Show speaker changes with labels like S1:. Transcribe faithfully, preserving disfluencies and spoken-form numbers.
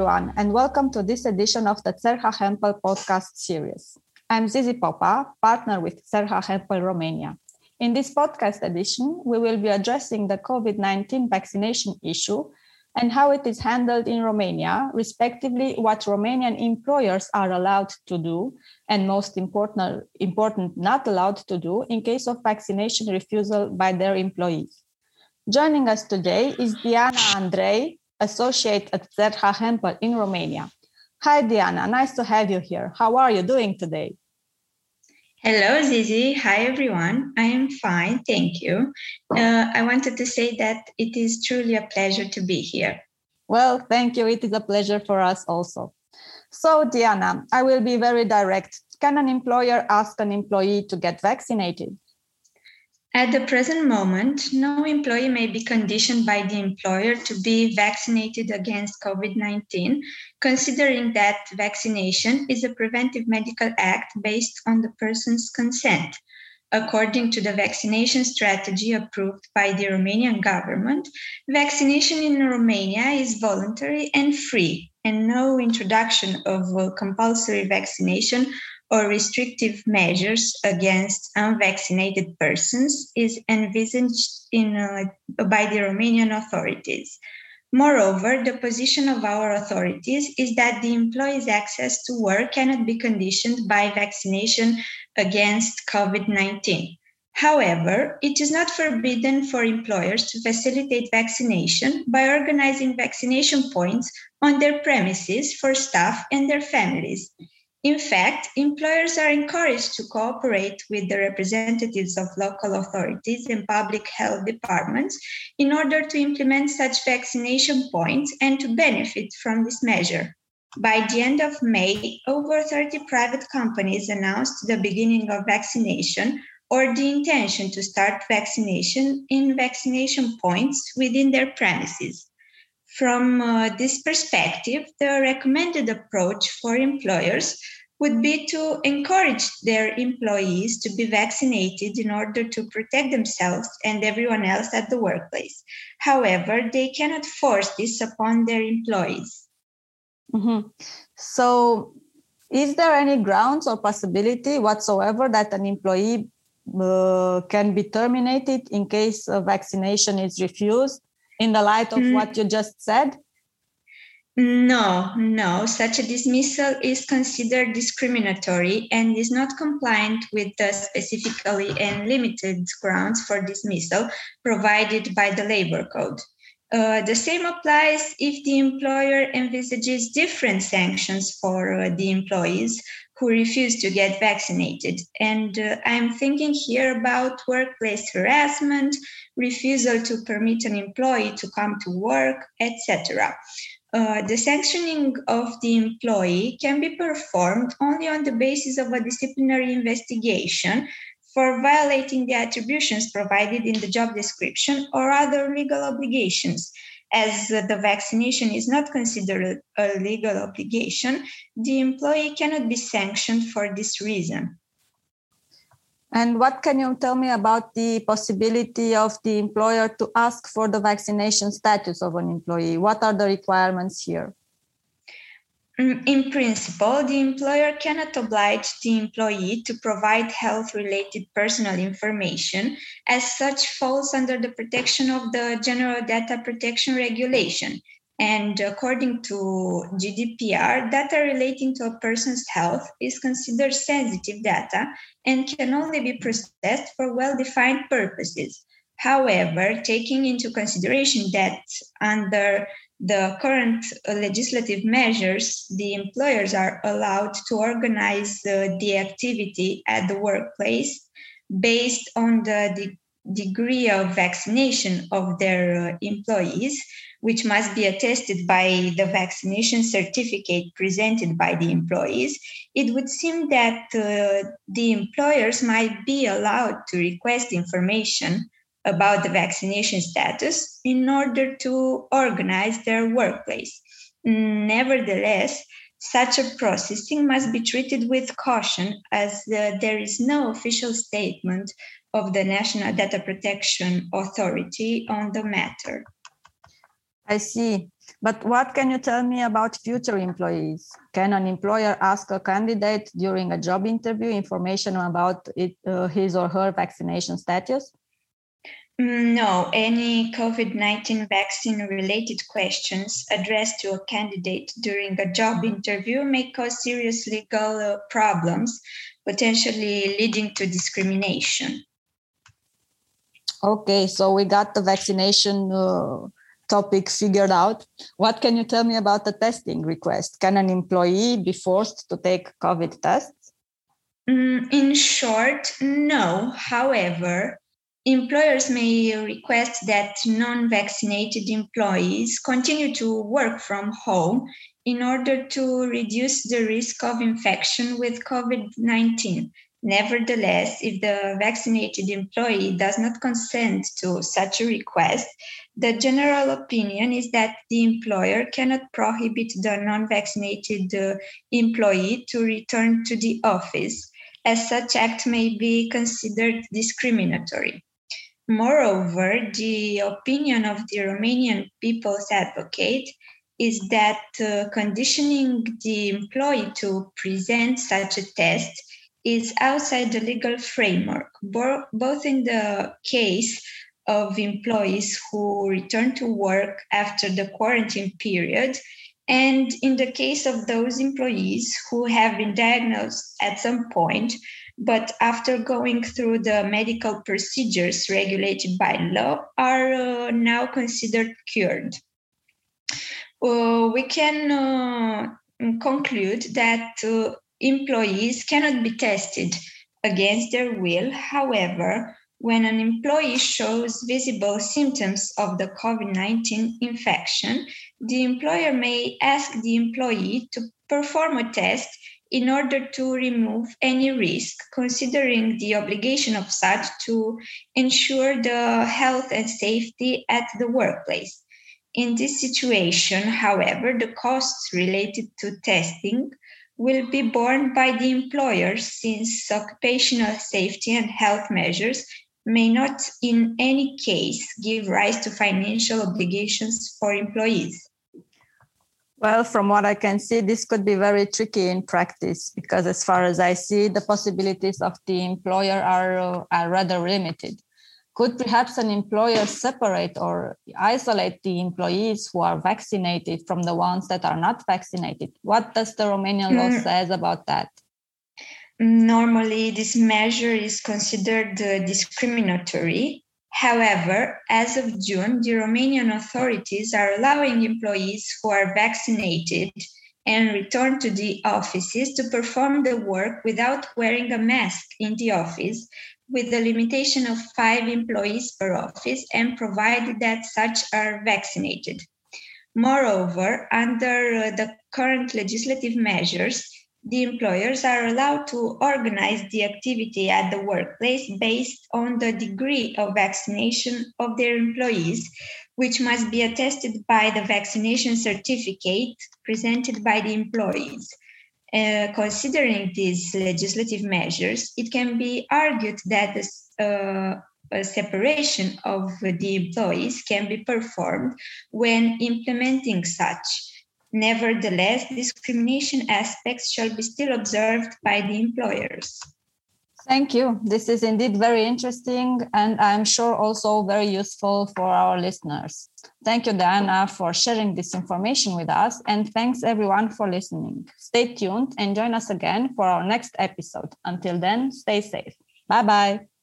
S1: everyone, and welcome to this edition of the Țerha Hempel podcast series. I'm Zizi Popa, partner with Țerha Hempel Romania. In this podcast edition, we will be addressing the COVID nineteen vaccination issue and how it is handled in Romania, respectively, what Romanian employers are allowed to do, and most important, important not allowed to do in case of vaccination refusal by their employees. Joining us today is Diana Andrei, associate at Țerha Hempel in Romania. Hi, Diana. Nice to have you here. How are you doing today?
S2: Hello, Zizi. Hi, everyone. I am fine. Thank you. Uh, I wanted to say that it is truly a pleasure to be here.
S1: Well, thank you. It is a pleasure for us also. So, Diana, I will be very direct. Can an employer ask an employee to get vaccinated?
S2: At the present moment, no employee may be conditioned by the employer to be vaccinated against COVID nineteen, considering that vaccination is a preventive medical act based on the person's consent. According to the vaccination strategy approved by the Romanian government, vaccination in Romania is voluntary and free, and no introduction of compulsory vaccination or restrictive measures against unvaccinated persons is envisaged in, uh, by the Romanian authorities. Moreover, the position of our authorities is that the employee's access to work cannot be conditioned by vaccination against COVID nineteen. However, it is not forbidden for employers to facilitate vaccination by organizing vaccination points on their premises for staff and their families. In fact, employers are encouraged to cooperate with the representatives of local authorities and public health departments in order to implement such vaccination points and to benefit from this measure. By the end of May, over thirty private companies announced the beginning of vaccination or the intention to start vaccination in vaccination points within their premises. From uh, this perspective, the recommended approach for employers would be to encourage their employees to be vaccinated in order to protect themselves and everyone else at the workplace. However, they cannot force this upon their employees.
S1: Mm-hmm. So, is there any grounds or possibility whatsoever that an employee uh, can be terminated in case a vaccination is refused? In the light of mm. what you just said?
S2: No, no. Such a dismissal is considered discriminatory and is not compliant with the specifically and limited grounds for dismissal provided by the Labor Code. Uh, the same applies if the employer envisages different sanctions for uh, the employees who refuse to get vaccinated. And uh, I'm thinking here about workplace harassment, refusal to permit an employee to come to work, et cetera. Uh, the sanctioning of the employee can be performed only on the basis of a disciplinary investigation for violating the attributions provided in the job description or other legal obligations. As uh, the vaccination is not considered a legal obligation, the employee cannot be sanctioned for this reason.
S1: And what can you tell me about the possibility of the employer to ask for the vaccination status of an employee? What are the requirements here?
S2: In principle, the employer cannot oblige the employee to provide health-related personal information, as such falls under the protection of the General Data Protection Regulation. And according to G D P R, data relating to a person's health is considered sensitive data and can only be processed for well-defined purposes. However, taking into consideration that under the current legislative measures, the employers are allowed to organize uh, the activity at the workplace based on the de- degree of vaccination of their uh, employees, which must be attested by the vaccination certificate presented by the employees, it would seem that uh, the employers might be allowed to request information about the vaccination status in order to organize their workplace. Nevertheless, such a processing must be treated with caution, as uh, there is no official statement of the National Data Protection Authority on the matter.
S1: I see. But what can you tell me about future employees? Can an employer ask a candidate during a job interview information about it, uh, his or her vaccination status?
S2: No, any COVID nineteen vaccine-related questions addressed to a candidate during a job interview may cause serious legal uh, problems, potentially leading to discrimination.
S1: Okay, so we got the vaccination uh, topic figured out. What can you tell me about the testing request? Can an employee be forced to take COVID tests?
S2: Mm, in short, no. However, employers may request that non-vaccinated employees continue to work from home in order to reduce the risk of infection with COVID nineteen. Nevertheless, if the vaccinated employee does not consent to such a request, the general opinion is that the employer cannot prohibit the non-vaccinated uh, employee to return to the office, as such act may be considered discriminatory. Moreover, the opinion of the Romanian People's Advocate is that uh, conditioning the employee to present such a test is outside the legal framework, bo- both in the case of employees who return to work after the quarantine period and in the case of those employees who have been diagnosed at some point, but after going through the medical procedures regulated by law, are uh, now considered cured. Uh, we can uh, conclude that uh, employees cannot be tested against their will. However, when an employee shows visible symptoms of the COVID nineteen infection, the employer may ask the employee to perform a test in order to remove any risk, considering the obligation of such to ensure the health and safety at the workplace. In this situation, however, the costs related to testing will be borne by the employer, since occupational safety and health measures may not in any case give rise to financial obligations for employees.
S1: Well, from what I can see, this could be very tricky in practice because as far as I see, the possibilities of the employer are, uh, are rather limited. Could perhaps an employer separate or isolate the employees who are vaccinated from the ones that are not vaccinated? What does the Romanian law mm. says about that?
S2: Normally, this measure is considered uh, discriminatory. However, as of June, the Romanian authorities are allowing employees who are vaccinated and return to the offices to perform the work without wearing a mask in the office, with the limitation of five employees per office and provided that such are vaccinated. Moreover, under uh, the current legislative measures, the employers are allowed to organize the activity at the workplace based on the degree of vaccination of their employees, which must be attested by the vaccination certificate presented by the employees. Uh, considering these legislative measures, it can be argued that this, uh, a separation of the employees can be performed when implementing such. Nevertheless, discrimination aspects shall be still observed by the employers.
S1: Thank you. This is indeed very interesting and I'm sure also very useful for our listeners. Thank you, Diana, for sharing this information with us, and thanks everyone for listening. Stay tuned and join us again for our next episode. Until then, stay safe. Bye-bye.